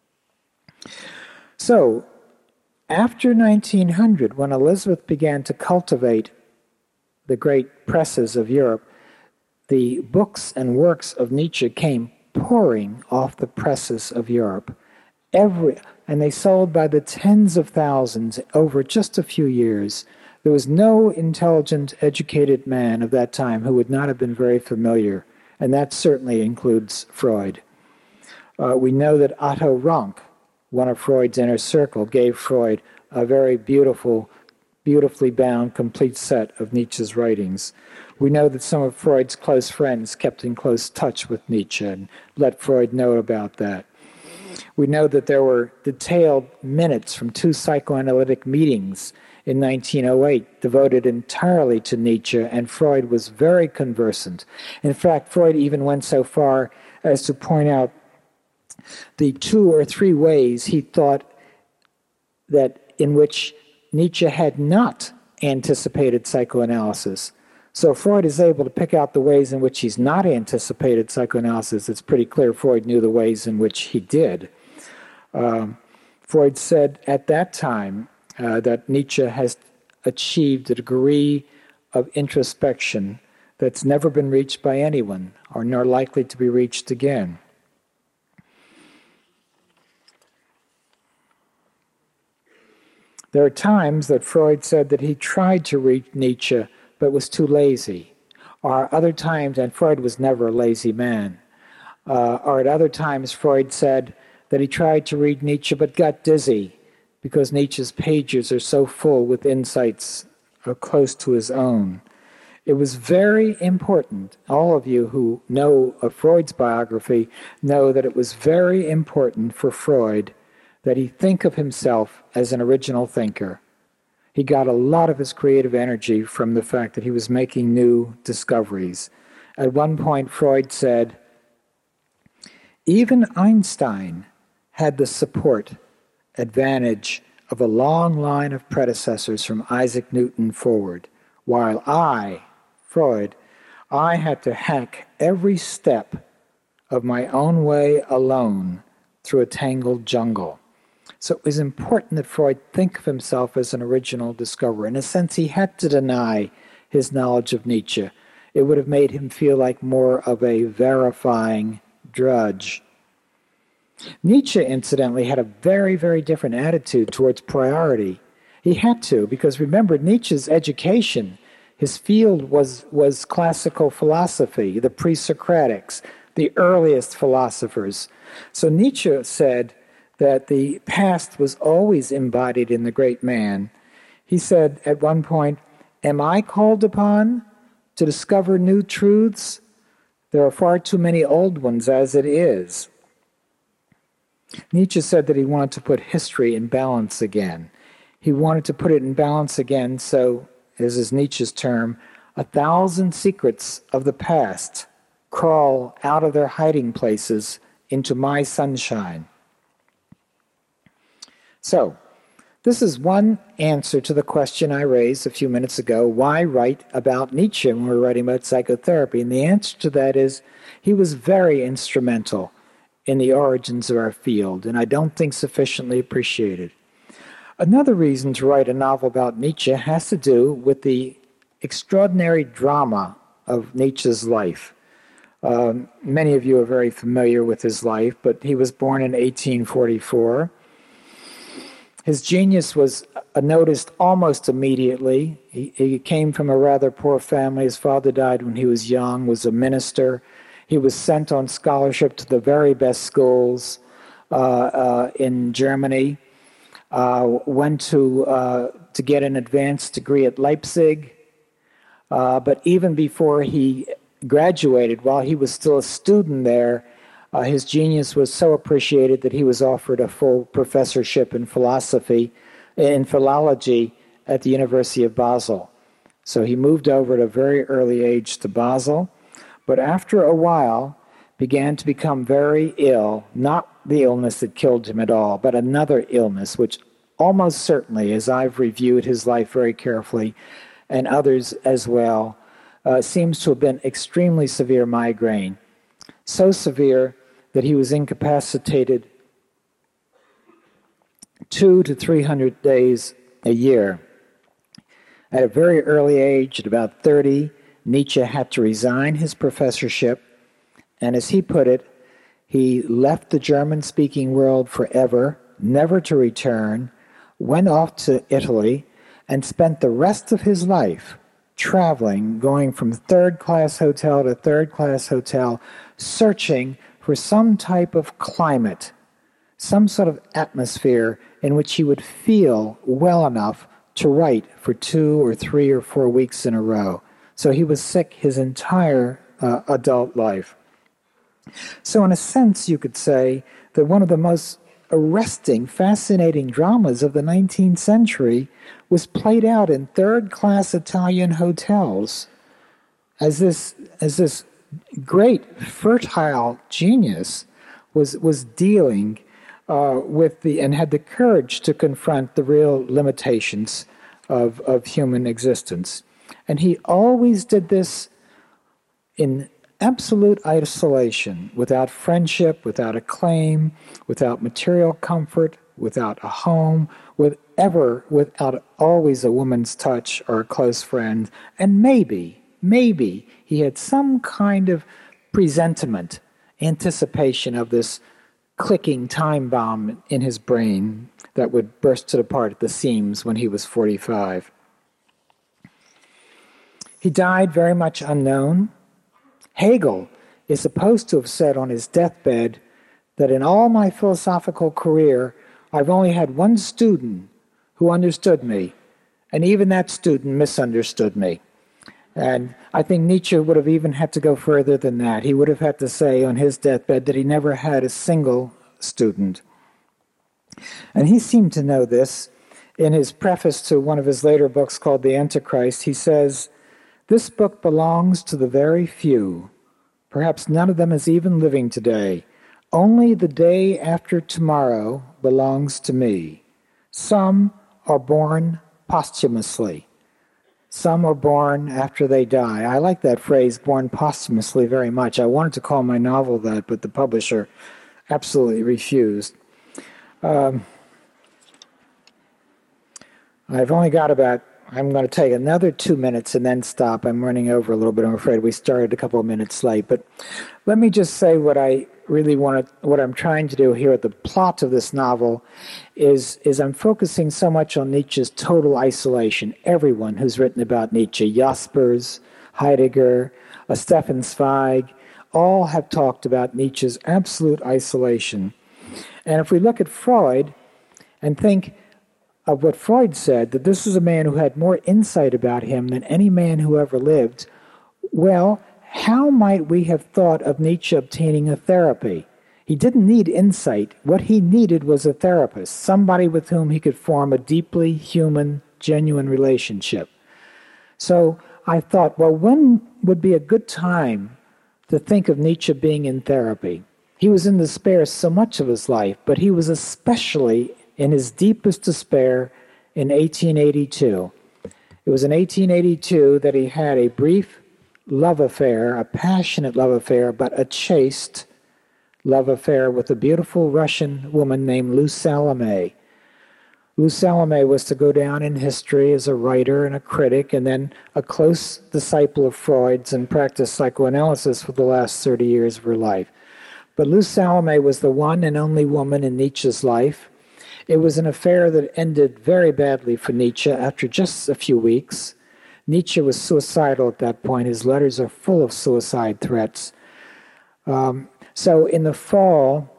[SPEAKER 1] So, after nineteen hundred, when Elizabeth began to cultivate the great presses of Europe, the books and works of Nietzsche came pouring off the presses of Europe. Every, and they sold by the tens of thousands over just a few years. There was no intelligent, educated man of that time who would not have been very familiar, and that certainly includes Freud. Uh, we know that Otto Rank, one of Freud's inner circle, gave Freud a very beautiful, beautifully bound, complete set of Nietzsche's writings. We know that some of Freud's close friends kept in close touch with Nietzsche and let Freud know about that. We know that there were detailed minutes from two psychoanalytic meetings in nineteen oh eight, devoted entirely to Nietzsche, and Freud was very conversant. In fact, Freud even went so far as to point out the two or three ways he thought that in which Nietzsche had not anticipated psychoanalysis. So Freud is able to pick out the ways in which he's not anticipated psychoanalysis. It's pretty clear Freud knew the ways in which he did. Um, Freud said at that time uh, that Nietzsche has achieved a degree of introspection that's never been reached by anyone, or nor likely to be reached again. There are times that Freud said that he tried to reach Nietzsche but was too lazy. Or other times, and Freud was never a lazy man, uh, or at other times Freud said that he tried to read Nietzsche but got dizzy because Nietzsche's pages are so full with insights uh, close to his own. It was very important, all of you who know of Freud's biography know that it was very important for Freud that he think of himself as an original thinker. He got a lot of his creative energy from the fact that he was making new discoveries. At one point, Freud said, even Einstein had the support advantage of a long line of predecessors from Isaac Newton forward, while I, Freud, I had to hack every step of my own way alone through a tangled jungle. So it was important that Freud think of himself as an original discoverer. In a sense, he had to deny his knowledge of Nietzsche. It would have made him feel like more of a verifying drudge. Nietzsche, incidentally, had a very, very different attitude towards priority. He had to, because remember, Nietzsche's education, his field was, was classical philosophy, the pre-Socratics, the earliest philosophers. So Nietzsche said that the past was always embodied in the great man. He said at one point, am I called upon to discover new truths? There are far too many old ones as it is. Nietzsche said that he wanted to put history in balance again. He wanted to put it in balance again so, as is Nietzsche's term, a thousand secrets of the past crawl out of their hiding places into my sunshine. So, this is one answer to the question I raised a few minutes ago, why write about Nietzsche when we're writing about psychotherapy? And the answer to that is he was very instrumental in the origins of our field, and I don't think sufficiently appreciated. Another reason to write a novel about Nietzsche has to do with the extraordinary drama of Nietzsche's life. Um, many of you are very familiar with his life, but he was born in eighteen forty-four. His genius was noticed almost immediately. He, he came from a rather poor family. His father died when he was young, was a minister. He was sent on scholarship to the very best schools uh, uh, in Germany, uh, went to, uh, to get an advanced degree at Leipzig. Uh, but even before he graduated, while he was still a student there, Uh, his genius was so appreciated that he was offered a full professorship in philosophy, in philology at the University of Basel. So he moved over at a very early age to Basel, but after a while began to become very ill, not the illness that killed him at all, but another illness, which almost certainly, as I've reviewed his life very carefully, and others as well, uh, seems to have been extremely severe migraine. So severe that he was incapacitated two to three hundred days a year. At a very early age, at about thirty, Nietzsche had to resign his professorship, and as he put it, he left the German-speaking world forever, never to return, went off to Italy, and spent the rest of his life traveling, going from third-class hotel to third-class hotel, searching for some type of climate, some sort of atmosphere in which he would feel well enough to write for two or three or four weeks in a row. So he was sick his entire uh, adult life. So in a sense, you could say that one of the most arresting, fascinating dramas of the nineteenth century was played out in third-class Italian hotels as this as this great, fertile genius was was dealing uh, with the and had the courage to confront the real limitations of of human existence, and he always did this in absolute isolation, without friendship, without acclaim, without material comfort, without a home, with ever, without always a woman's touch or a close friend, and maybe, maybe he had some kind of presentiment, anticipation of this clicking time bomb in his brain that would burst it apart at the seams when he was forty-five. He died very much unknown. Hegel is supposed to have said on his deathbed that in all my philosophical career, I've only had one student who understood me, and even that student misunderstood me. And I think Nietzsche would have even had to go further than that. He would have had to say on his deathbed that he never had a single student. And he seemed to know this. In his preface to one of his later books called The Antichrist, he says, "This book belongs to the very few. Perhaps none of them is even living today. Only the day after tomorrow belongs to me. Some are born posthumously. Some are born after they die." I like that phrase, born posthumously, very much. I wanted to call my novel that, but the publisher absolutely refused. Um, I've only got about, I'm going to take another two minutes and then stop. I'm running over a little bit. I'm afraid we started a couple of minutes late. But let me just say what I really want to, what I'm trying to do here at the plot of this novel is, is I'm focusing so much on Nietzsche's total isolation. Everyone who's written about Nietzsche, Jaspers, Heidegger, uh, Stefan Zweig, all have talked about Nietzsche's absolute isolation. And if we look at Freud and think of what Freud said, that this is a man who had more insight about him than any man who ever lived, well, how might we have thought of Nietzsche obtaining a therapy? He didn't need insight. What he needed was a therapist, somebody with whom he could form a deeply human, genuine relationship. So I thought, well, when would be a good time to think of Nietzsche being in therapy? He was in despair so much of his life, but he was especially in his deepest despair in eighteen eighty-two. It was in eighteen eighty-two that he had a brief love affair, a passionate love affair, but a chaste love affair with a beautiful Russian woman named Lou Salome. Lou Salome was to go down in history as a writer and a critic, and then a close disciple of Freud's and practiced psychoanalysis for the last thirty years of her life. But Lou Salome was the one and only woman in Nietzsche's life. It was an affair that ended very badly for Nietzsche after just a few weeks. Nietzsche was suicidal at that point. His letters are full of suicide threats. Um, so in the fall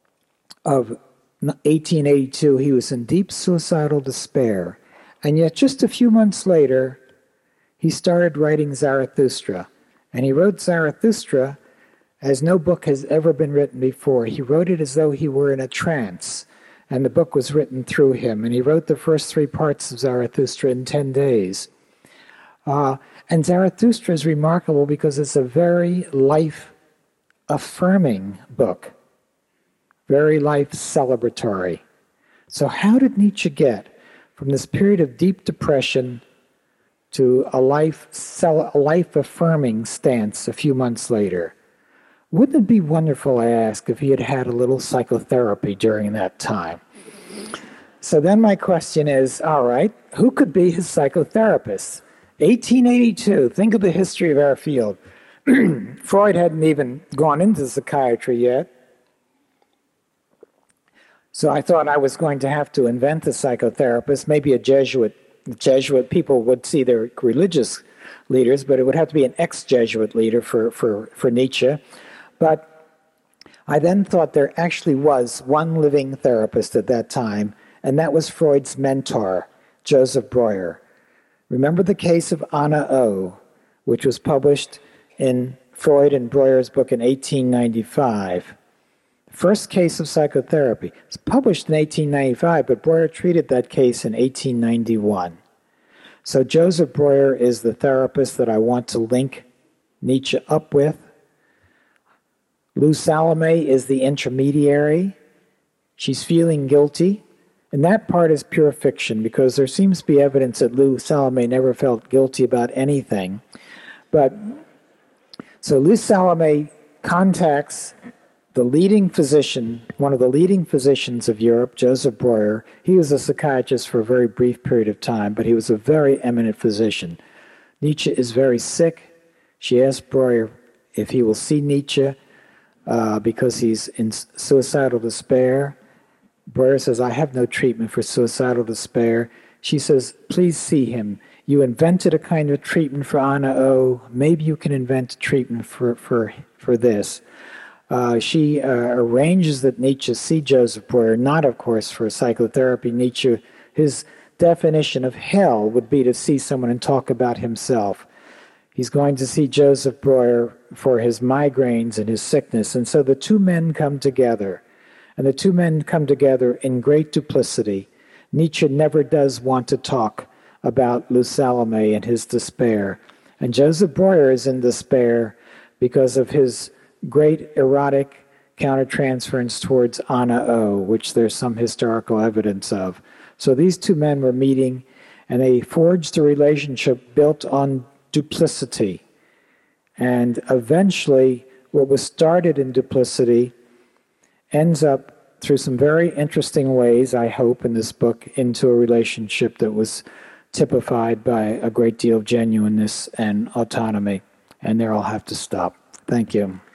[SPEAKER 1] of eighteen eighty-two, he was in deep suicidal despair. And yet just a few months later, he started writing Zarathustra. And he wrote Zarathustra as no book has ever been written before. He wrote it as though he were in a trance, and the book was written through him. And he wrote the first three parts of Zarathustra in ten days. Uh, and Zarathustra is remarkable because it's a very life-affirming book, very life-celebratory. So how did Nietzsche get from this period of deep depression to a life, a life-affirming stance a few months later? Wouldn't it be wonderful, I ask, if he had had a little psychotherapy during that time? So then my question is, all right, who could be his psychotherapist? eighteen eighty-two, think of the history of our field. Freud hadn't even gone into psychiatry yet. So I thought I was going to have to invent a psychotherapist, maybe a Jesuit. Jesuit people would see their religious leaders, but it would have to be an ex-Jesuit leader for, for, for Nietzsche. But I then thought there actually was one living therapist at that time, and that was Freud's mentor, Joseph Breuer. Remember the case of Anna O, which was published in Freud and Breuer's book in eighteen ninety-five. First case of psychotherapy. It's published in eighteen ninety-five, but Breuer treated that case in eighteen ninety-one. So Joseph Breuer is the therapist that I want to link Nietzsche up with. Lou Salome is the intermediary. She's feeling guilty. And that part is pure fiction because there seems to be evidence that Lou Salome never felt guilty about anything. But so Lou Salome contacts the leading physician, one of the leading physicians of Europe, Joseph Breuer. He was a psychiatrist for a very brief period of time, but he was a very eminent physician. Nietzsche is very sick. She asks Breuer if he will see Nietzsche uh, because he's in suicidal despair. Breuer says, I have no treatment for suicidal despair. She says, please see him. You invented a kind of treatment for Anna O. Maybe you can invent a treatment for, for, for this. Uh, she uh, arranges that Nietzsche see Joseph Breuer, not, of course, for psychotherapy. Nietzsche, his definition of hell would be to see someone and talk about himself. He's going to see Joseph Breuer for his migraines and his sickness. And so the two men come together. And the two men come together in great duplicity. Nietzsche never does want to talk about Lou Salome and his despair. And Joseph Breuer is in despair because of his great erotic countertransference towards Anna O, which there's some historical evidence of. So these two men were meeting, and they forged a relationship built on duplicity. And eventually, what was started in duplicity ends up, through some very interesting ways, I hope, in this book, into a relationship that was typified by a great deal of genuineness and autonomy. And there I'll have to stop. Thank you.